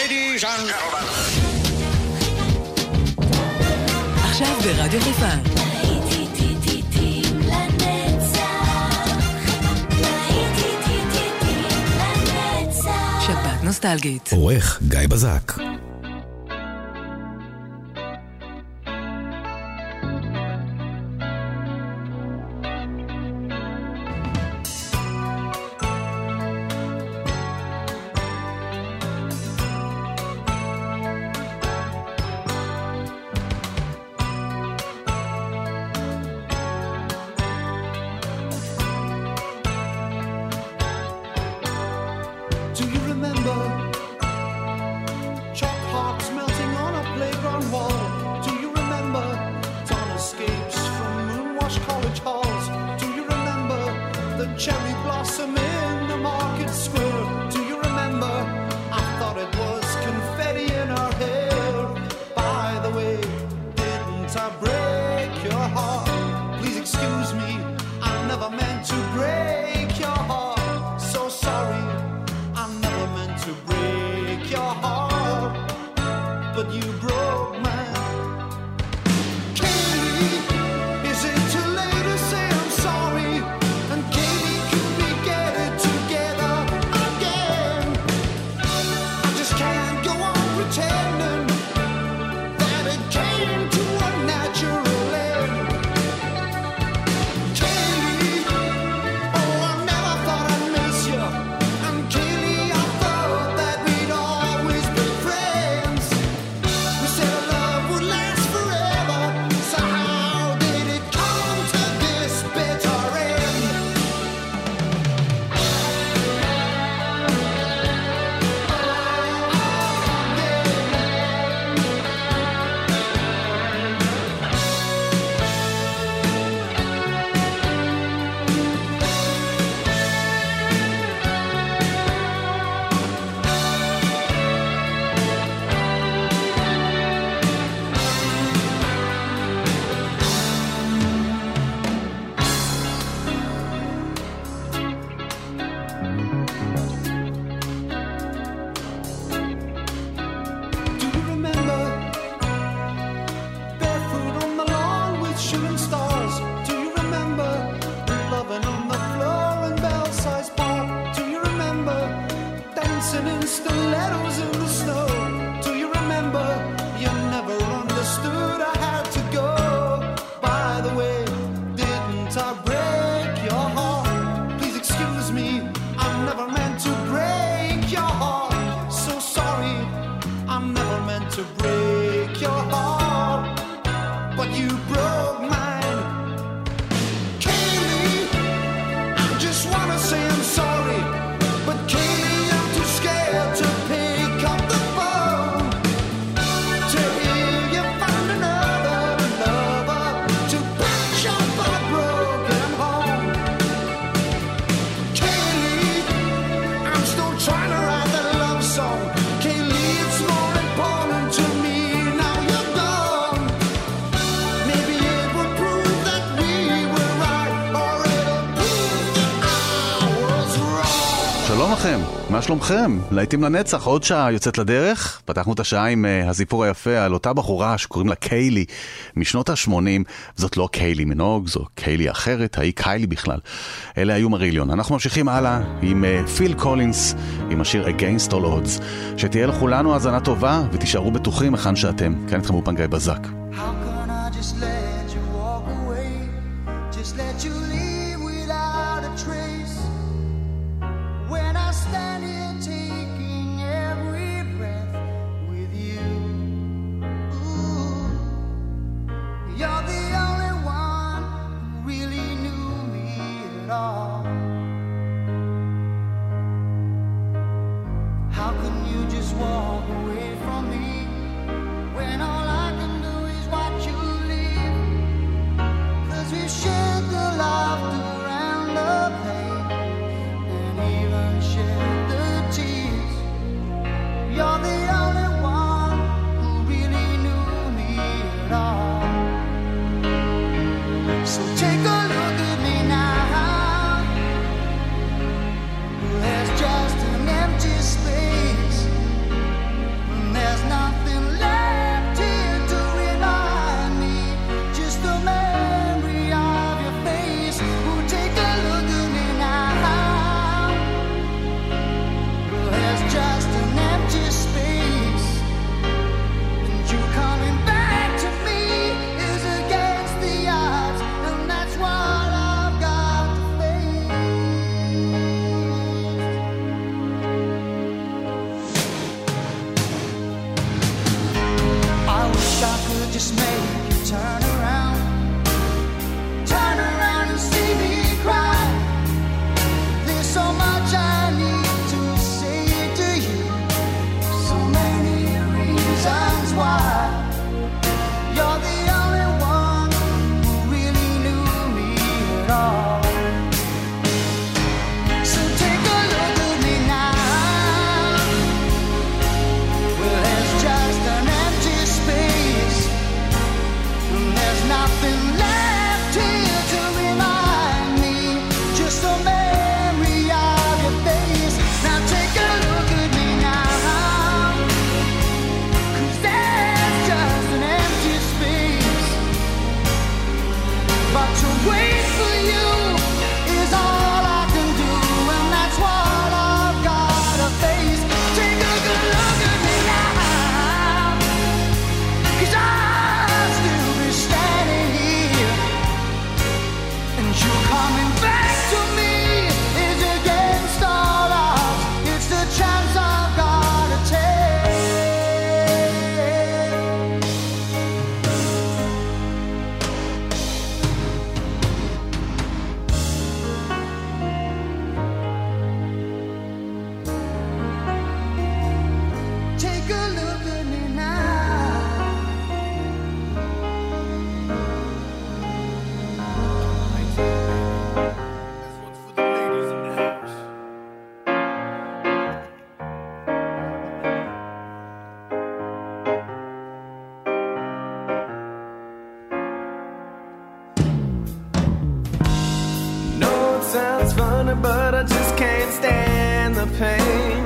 Ladies and gentlemen. עכשיו ברדיו חיפה. שבת נוסטלגית. עורך גיא בזק. מה שלומכם? להיטים לנצח, עוד שעה יוצאת לדרך. פתחנו את השעה עם הזיפור היפה על אותה בחורה שקוראים לה קיילי משנות ה-80. זאת לא קיילי מנוג, זו קיילי אחרת, היא קיילי בכלל. אלה היו מריליון. אנחנו ממשיכים הלאה עם פיל קולינס, עם השיר Against All Odds. שתהיה לכולנו האזנה טובה ותישארו בטוחים היכן שאתם. כאן איתכם אופן גיא בזק. How can I just let you walk away? Just let you leave without a trace. When I stand here taking every breath with you. Ooh, you're the only one who really knew me at all. How can you just walk away from me when all I can do is watch you leave? 'Cause we shared the laughter and the pain and even shared the tears. You're the only one who really knew me at all. So take a look at me now. There's just an empty space. just make you turn around and see me cry. There's so much I need to say to you, so many reasons why. You're the only one who really knew me at all. So take a look at me now. Well, there's just an empty space, and there's nothing left here to remind me, just a memory of your face. Now take a look at me now, 'cause there's just an empty space. But to wait for you is all I can do, and that's what I've gotta face. Take a good look at me now, 'cause I'll still be standing here, and you coming back to me is against all odds. It's the chance I've gotta take. Take a look at me now. This one's for the ladies in the house. No, it sounds funny, but I just can't stand the pain.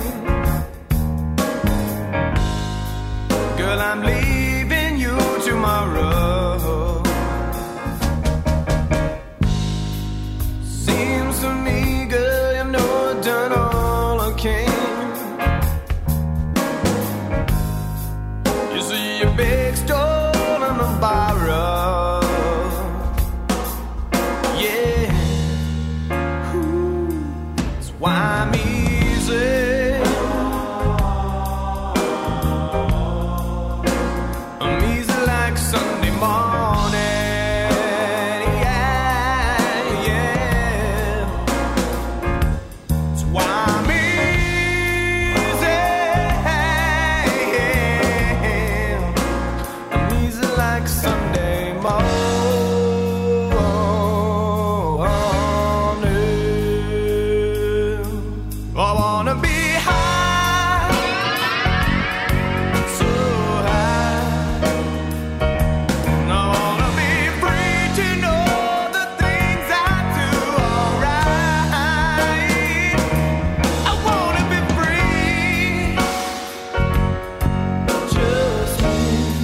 Girl, I'm leaving you tomorrow. Seems to me, girl, you know I've done all I can. You see your big stolen and borrow. Yeah. Ooh. That's why I'm easy. I'm easy like Sunday morning. Yeah, yeah. That's why I'm easy. I'm easy like Sunday morning. I wanna be high, so high. I wanna be free to know the things I do alright. I wanna be free, just me.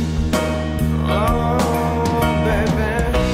Oh, baby.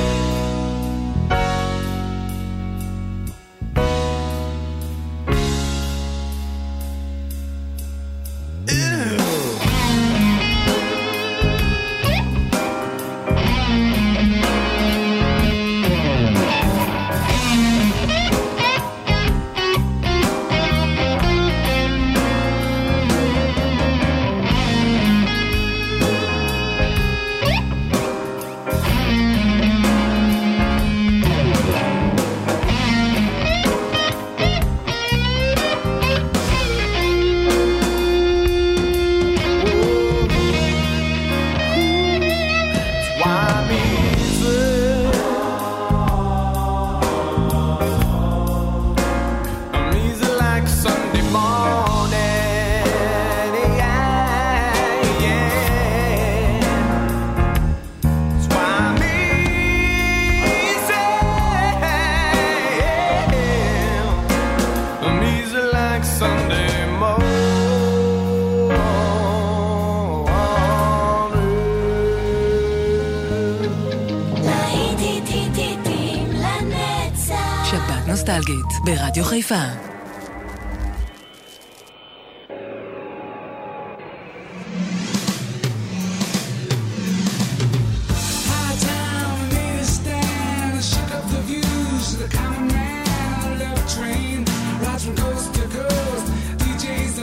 נוסטלגית ברדיו חיפה.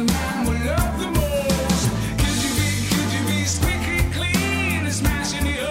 Could you be squeaky clean and smashing the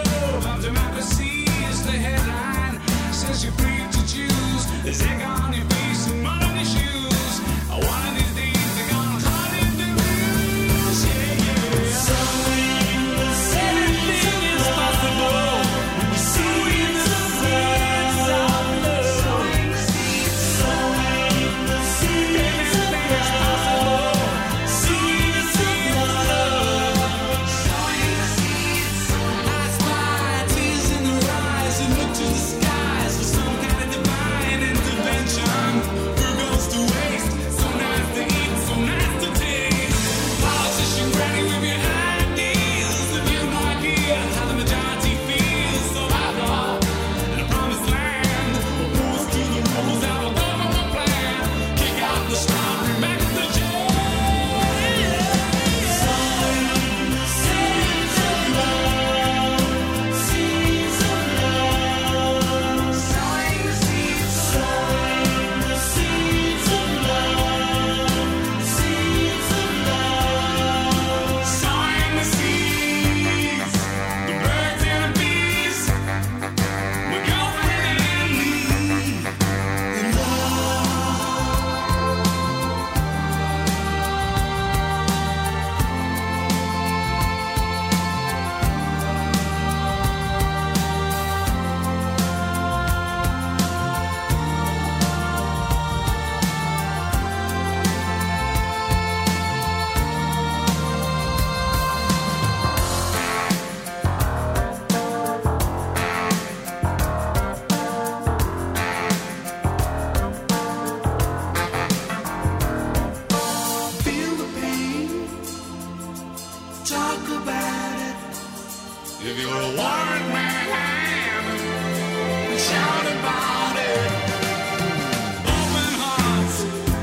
talk about it. If you're a warrant man, shout about it. Open hearts,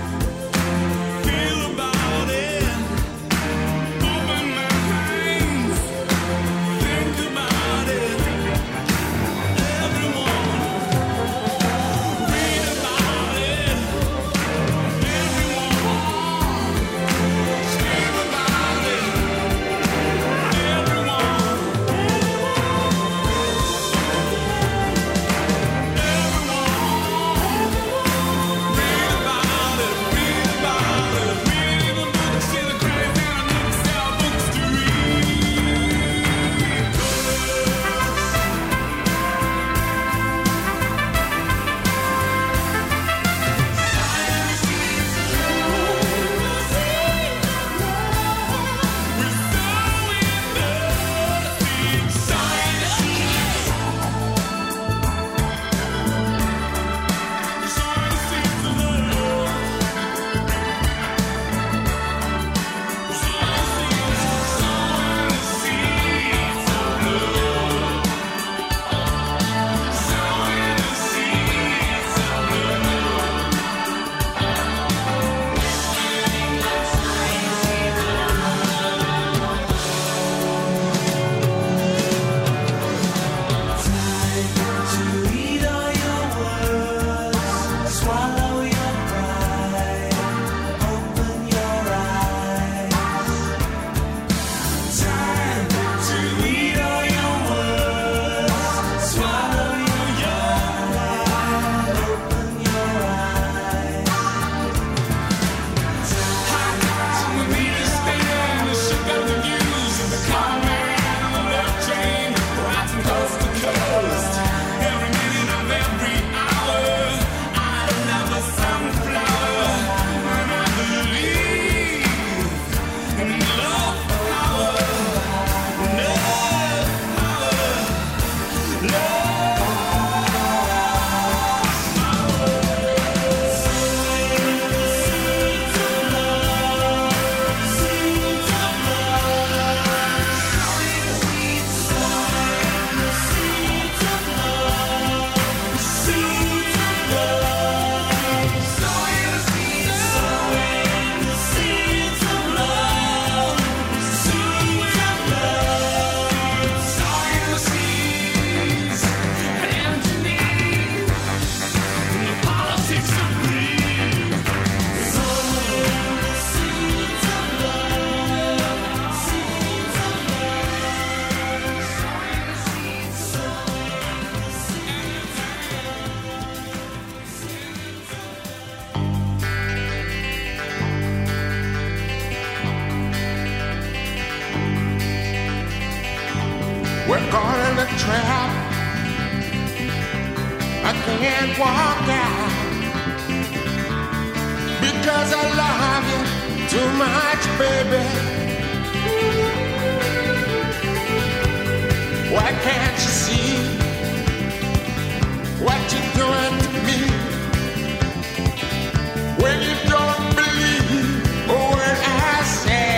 feel about it. Open minds, think about it. Everyone, read about it. Everyone, scream about it. We're caught in a trap. I can't walk out because I love you too much, baby. Why can't you see what you're doing to me? When you don't believe a word I say.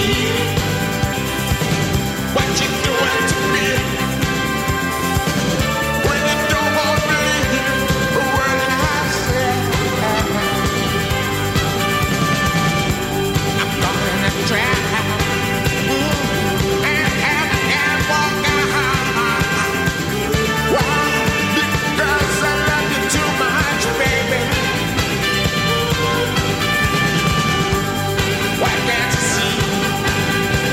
what you doing to me. When you don't want to believe a word that I say, I'm gonna try and walk out. Why? Because I love you too much, baby. Why can't you see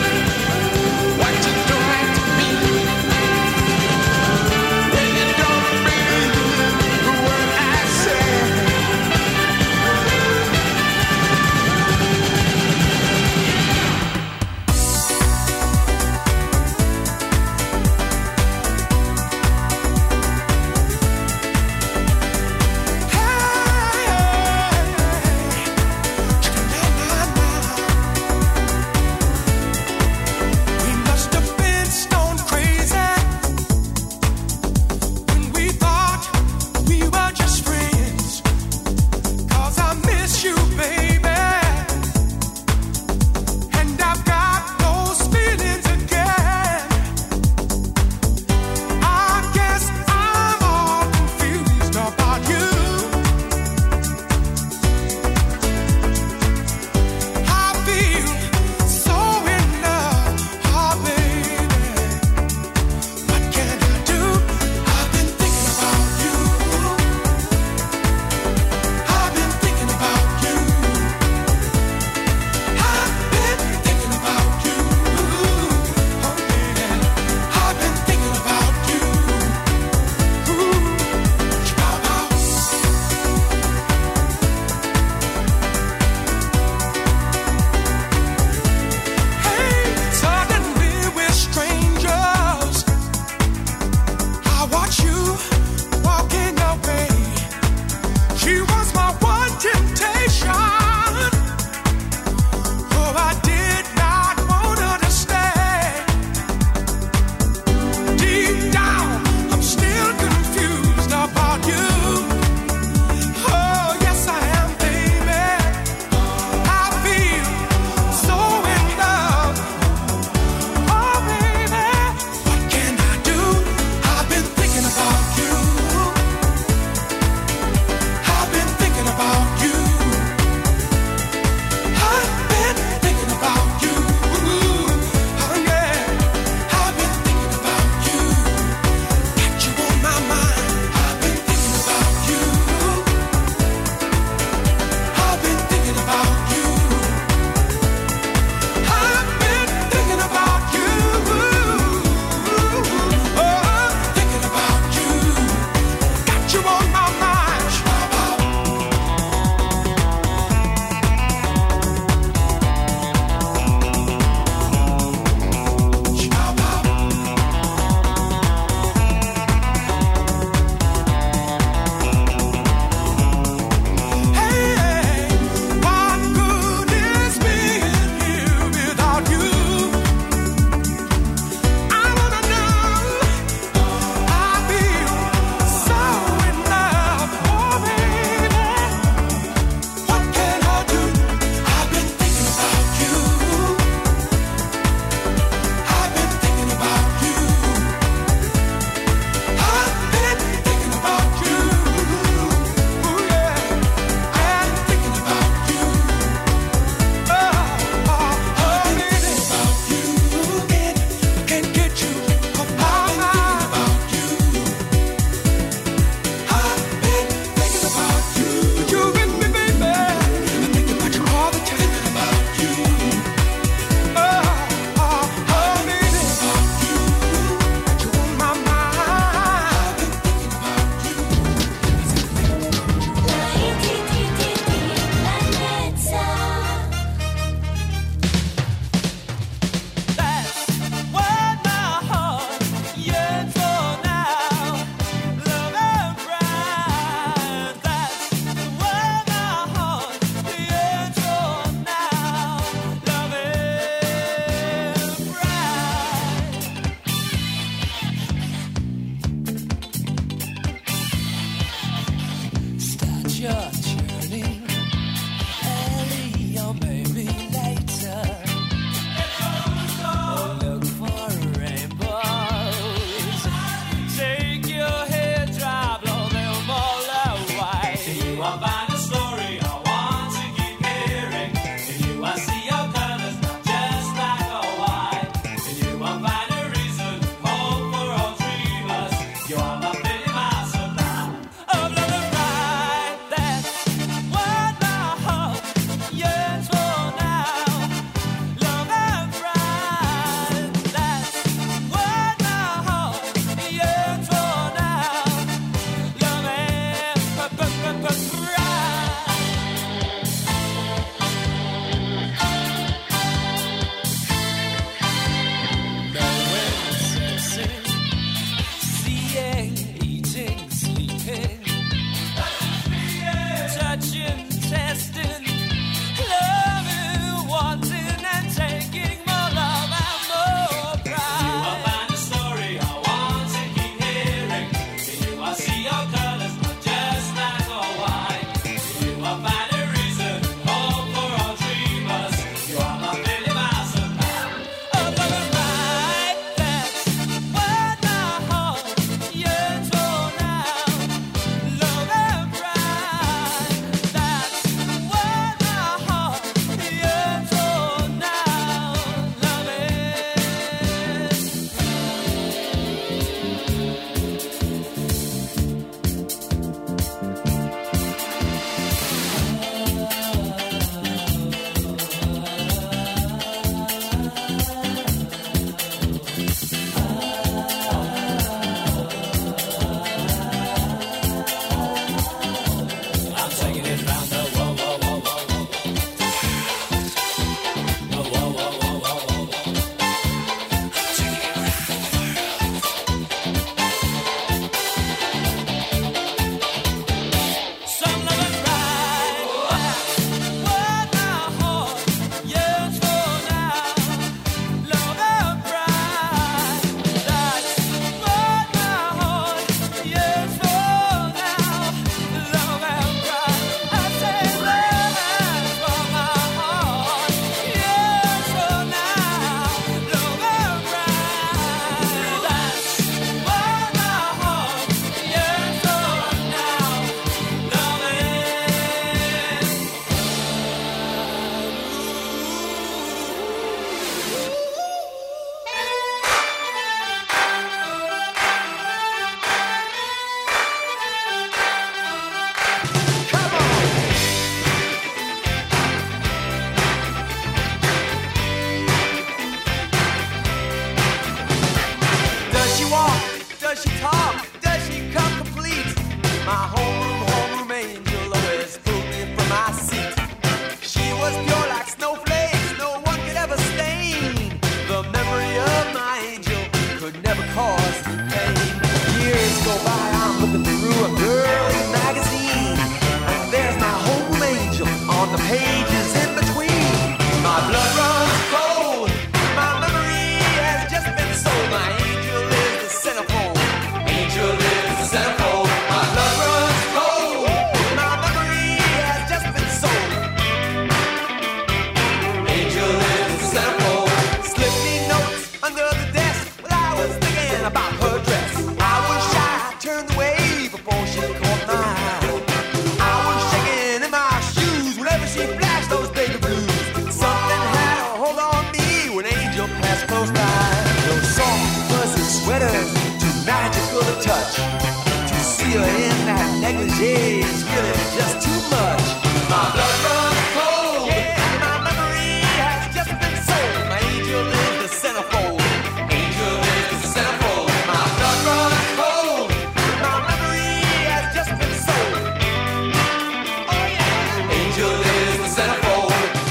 that's close by. Those soft, fuzzy sweaters, too magical to touch. To see her in that negligee is really just too much. My blood runs cold. Yeah, my memory has just been sold. My angel is the centerfold. Angel is the centerfold. My blood runs cold. My memory has just been sold. Oh yeah. Angel is the centerfold.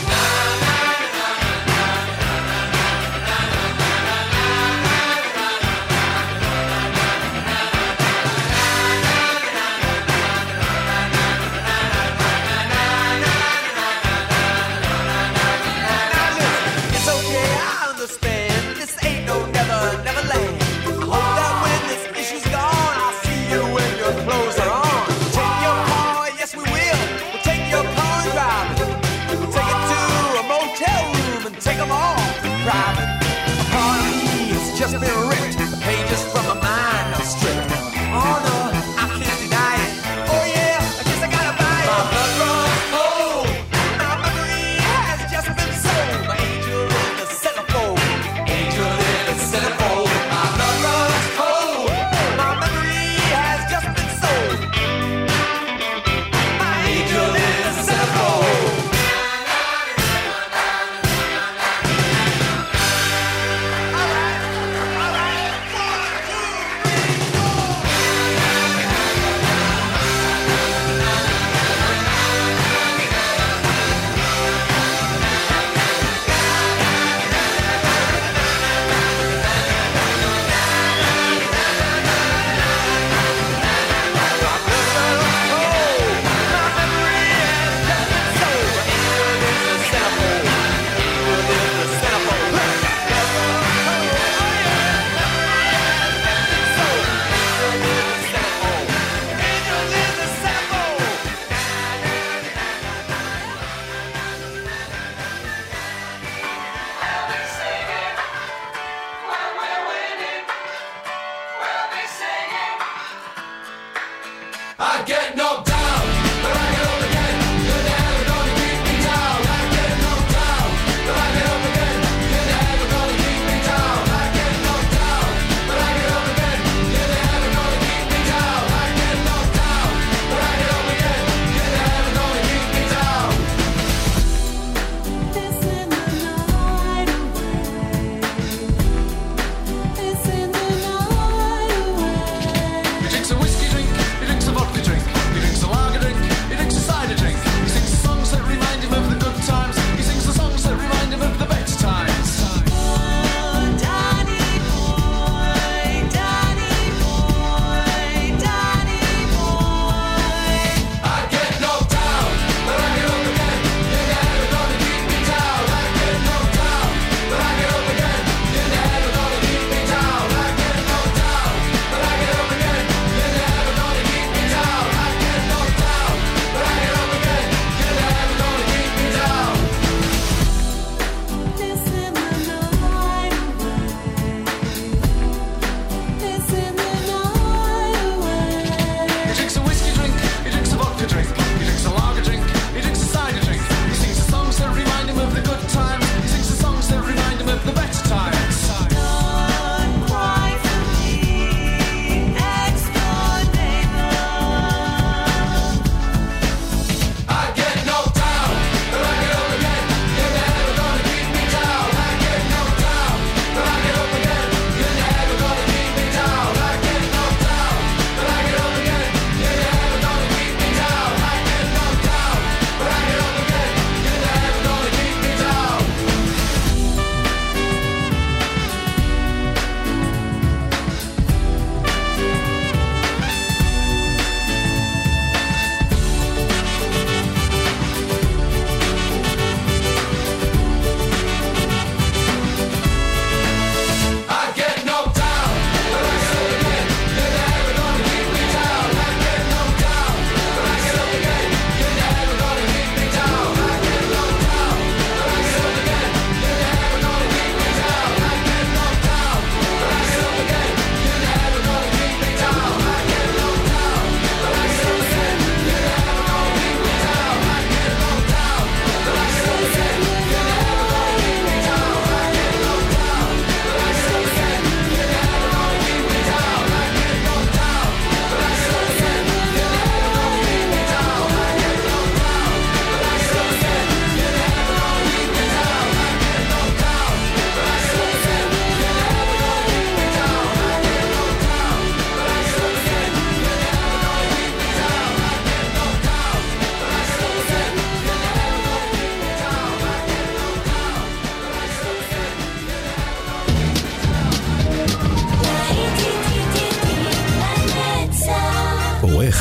Just been ripped, the pages from my mind are stripped. Oh no, I can't deny it. Oh yeah, I guess I gotta buy it. My blood runs cold. My memory has just been sold. My angel is the centerfold.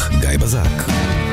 גיא בזק.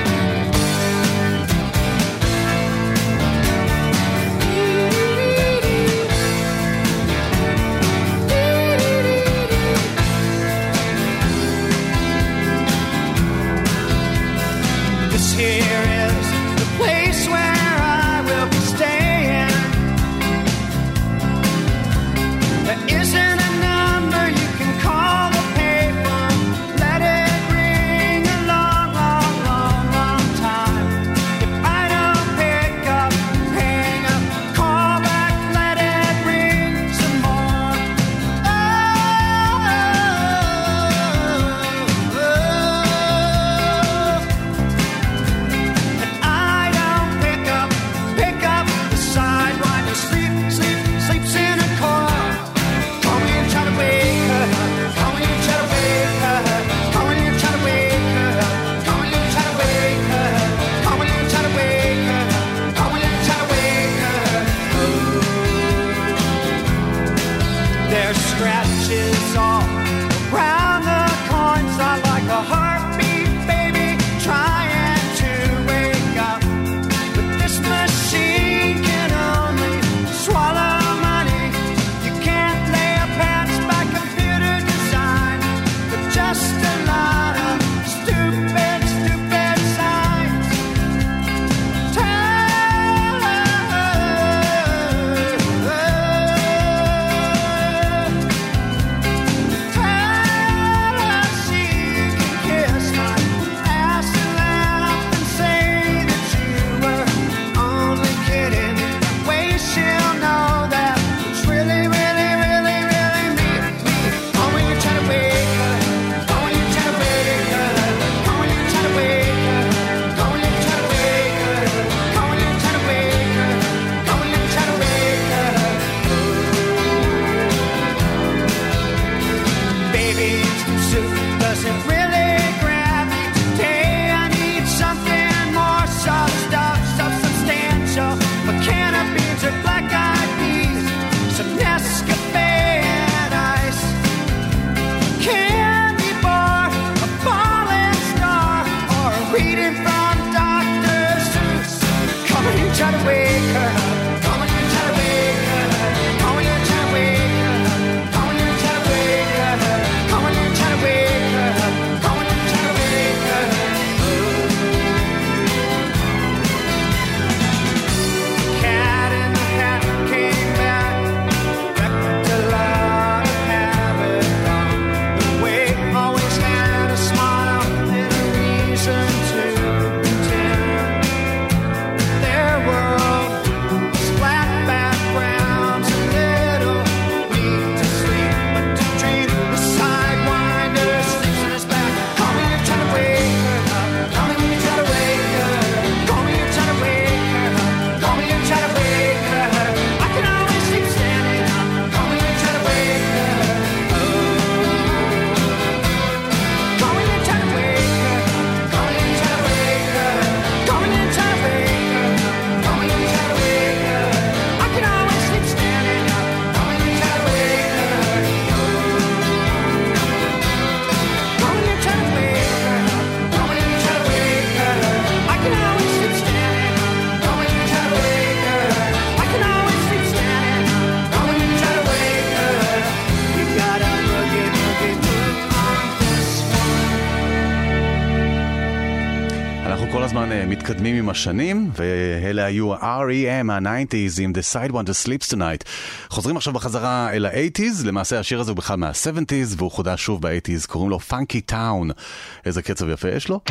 מתקדמים עם השנים, ואלה היו R.E.M. ה-90s עם The Side One to Sleeps Tonight. חוזרים עכשיו בחזרה אל ה-80s, למעשה השיר הזה הוא בכלל מה-70s, והוא חודש שוב ב-80s, קוראים לו Funky Town. איזה קצב יפה יש לו?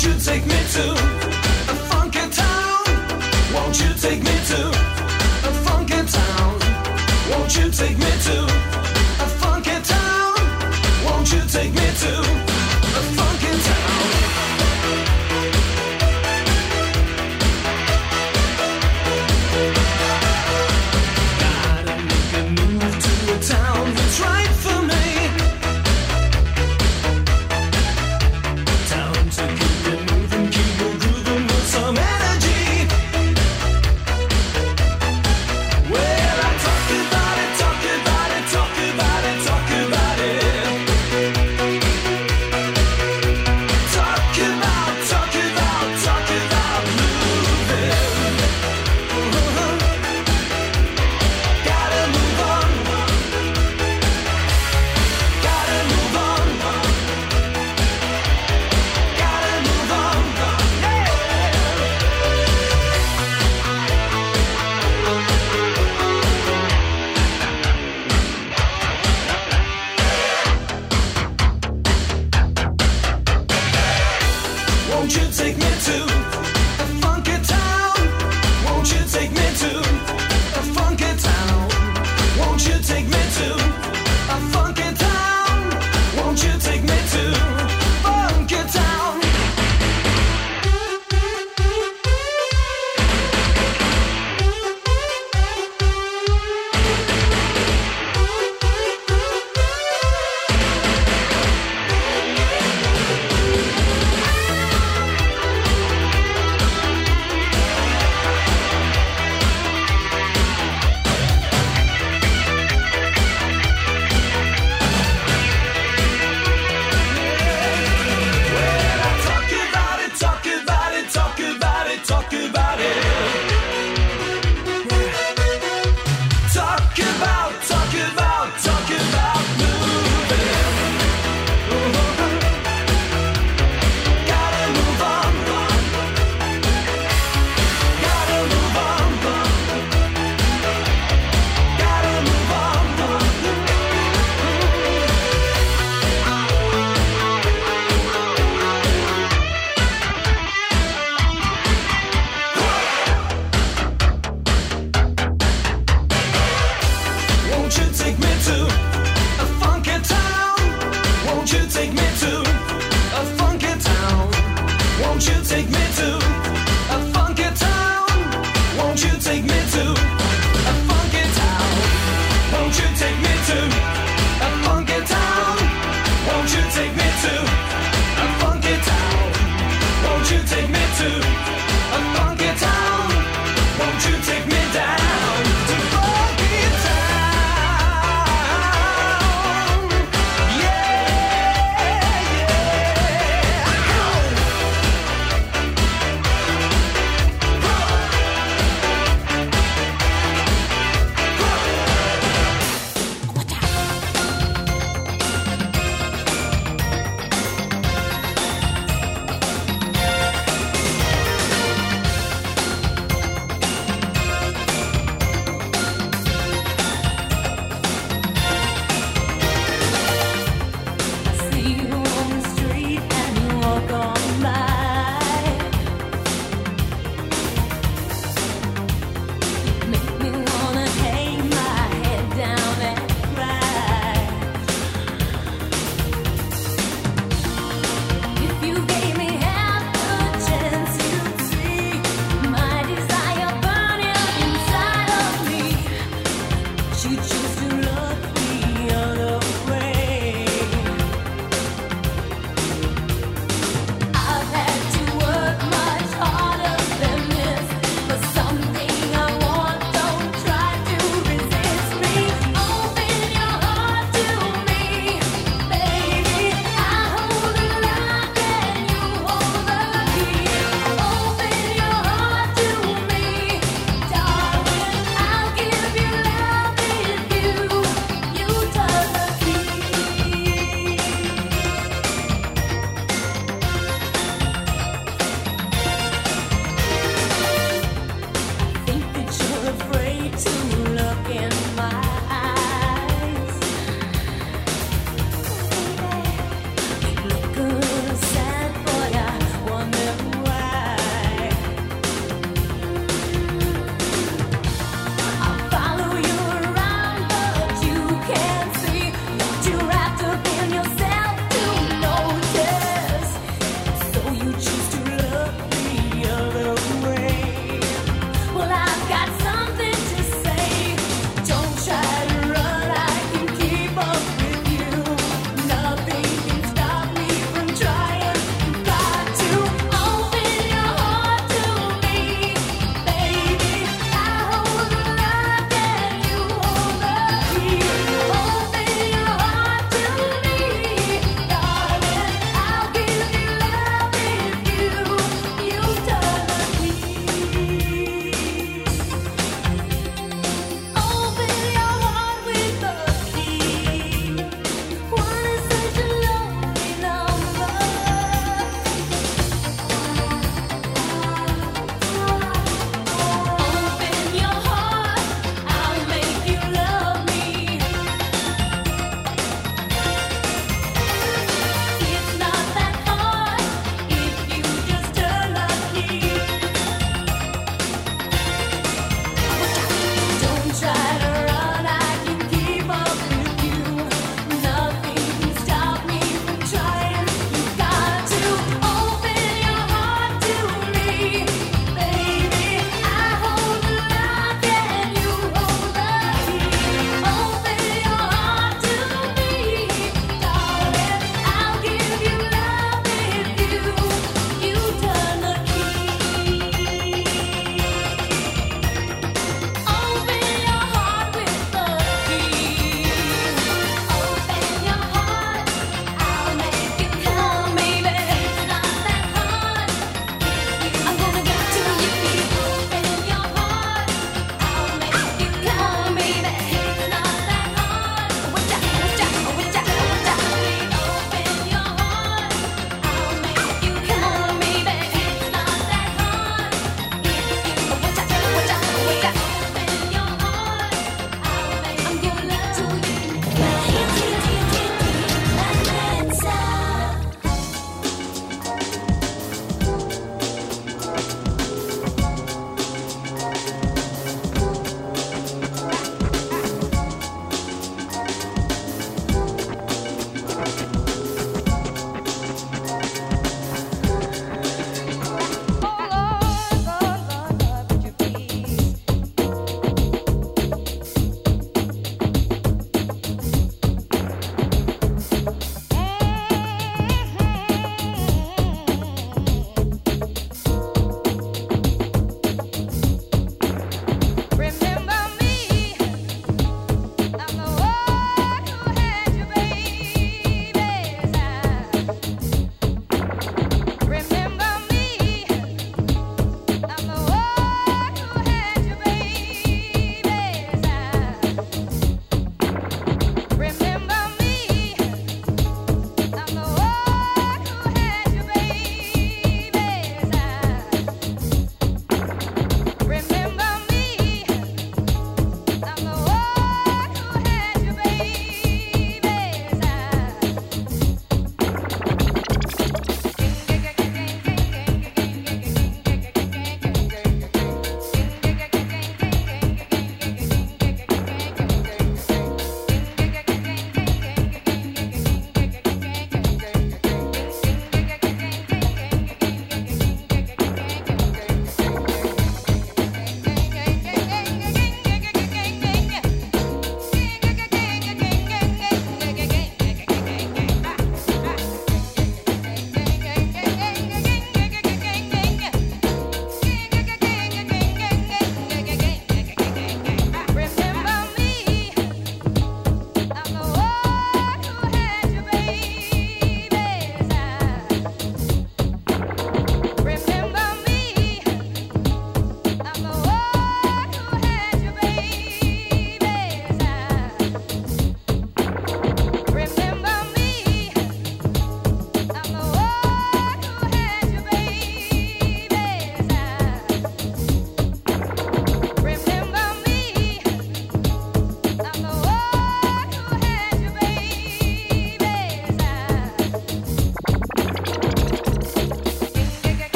Won't you take me to a funky town? Won't you take me to a funky town? Won't you take me to a funky town? Won't you take me to a funky town? Gotta make a move to a town that's right for me. Town to keep you moving, keep you grooving with some energy. Well, I talk about it, talk about it, talk about it, talk about it. Talk about, talk about, talk about moving. Gotta move on. Gotta move on. Gotta move on. Yeah. Won't you take me to a funky town? Won't you take me to a funky town? Won't you take me to a funky town? Won't you take me to funky town? Well, I talk about it, talk about it, talk about it, talk about it. Talk about, talk about, talk about moving. Gotta move on. Gotta move on. Gotta move on. Won't you take me to a funky town? Won't you take me to a funky town? Won't you take me to a funky town? Won't you take me to a funky town? Won't you take me to a funky town? Won't you take me to a funky town? Won't you take me to a funky town? Won't you take me down to funky town? Yeah, yeah.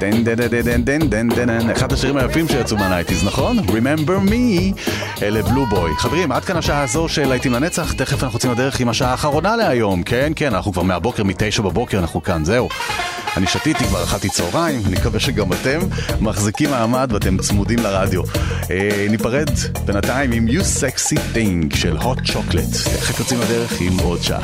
דן דן דן דן דן דן, אחד השירים היפים שיצאו מהנייטיז, נכון? Remember me, אלה בלו בוי. חברים, עד כאן השעה הזו של להיטים לנצח, תכף אנחנו יוצאים לדרך עם השעה האחרונה להיום. כן, כן, אנחנו כבר מהבוקר, מ-9 בבוקר, אנחנו כאן, זהו. אני שתיתי כבר, אכלתי צהריים, אני מקווה שגם אתם מחזיקים מעמד ואתם צמודים לרדיו. ניפרד בינתיים עם You Sexy Thing של Hot Chocolate. תכף יוצאים לדרך עם עוד שעה.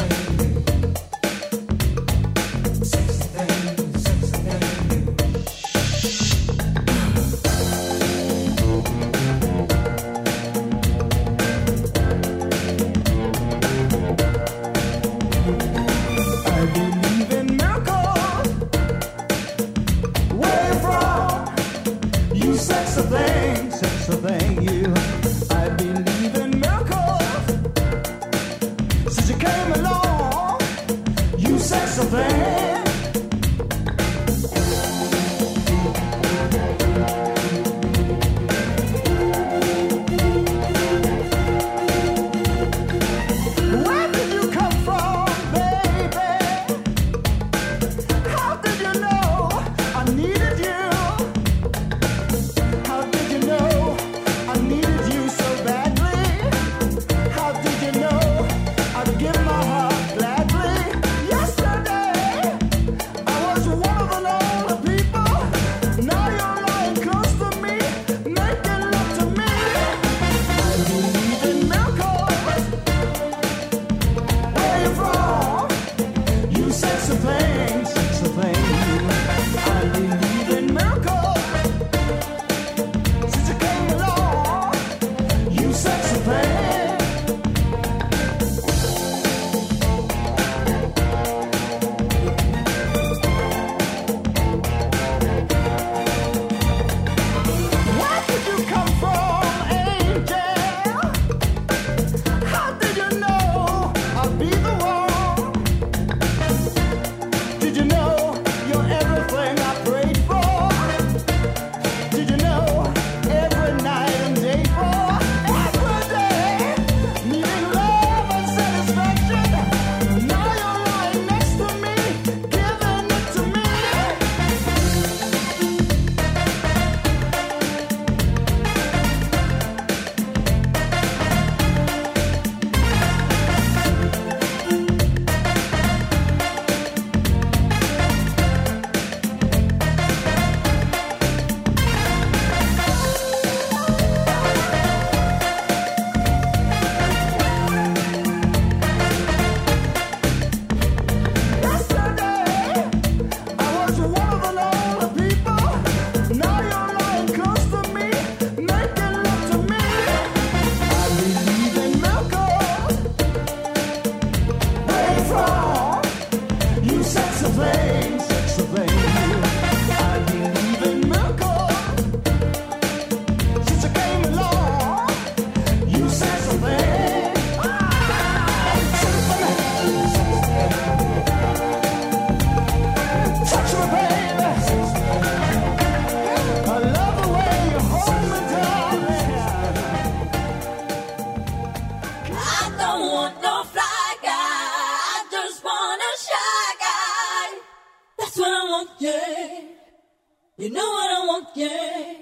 You know what I want, yeah.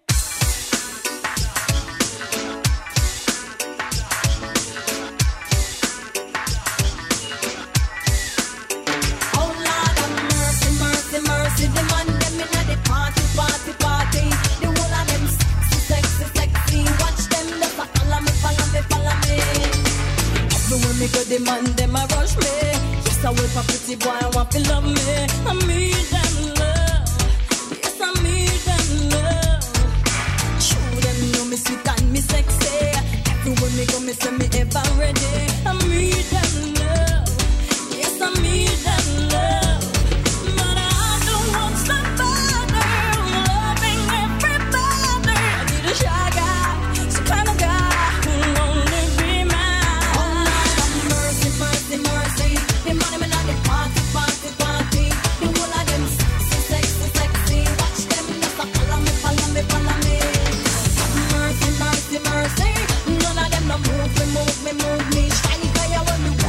Oh Lord have mercy, mercy, mercy. The man them inna the party, party, party. The whole of them sexy, sexy, sexy. Watch them just a follow me, follow me, follow me. Everywhere me go, the man them a rush me. Yes, I wait for pretty boy, I want to love me. I need them love. Yes, I need them love. Show them know me sweet and me sexy. Everywhere me go, me say me ever ready. I need them love. Yes, I need them love. But I don't want somebody loving everybody. I need a shy guy, some kind of guy who'll only be mine. Oh Lord have mercy, mercy, mercy. The money me not the party, party, party. The whole of them sexy, sexy, sexy. Watch them just a follow me, follow me, follow me. Mercy, mercy, mercy. None of them no move me, move me, move me. Shine fire when me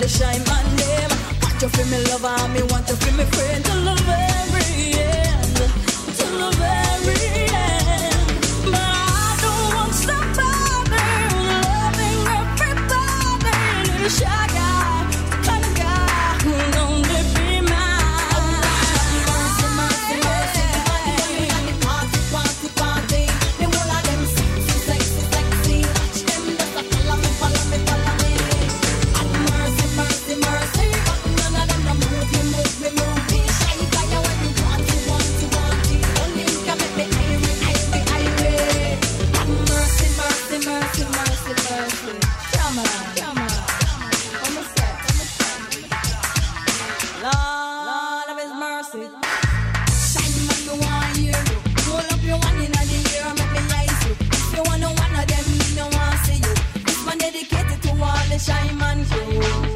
the shy man them. Want you feel me lover, me want you feel me friend. To love every end, to love every end. But I don't want somebody loving everybody. Little shy guy, kind of guy who'll only be mine. Mercy, mercy, mercy, mercy. Party, party, party. The whole of them sexy, sexy, sexy. Watch them just a follow me, follow me, follow me. And mercy, mercy, mercy. But none of them no move me, move me, move me. Shy guy, when you want it, want it, want it. Only you can make me irie, irie, irie. And mercy, mercy, mercy, mercy, mercy. Come on, come on. Almost set, almost set. Lord of His mercy. Shine man, me want you. Roll up your one in the air, make me eyes you. If you want one of them, me no want see you. This one dedicated to all the shy man crew.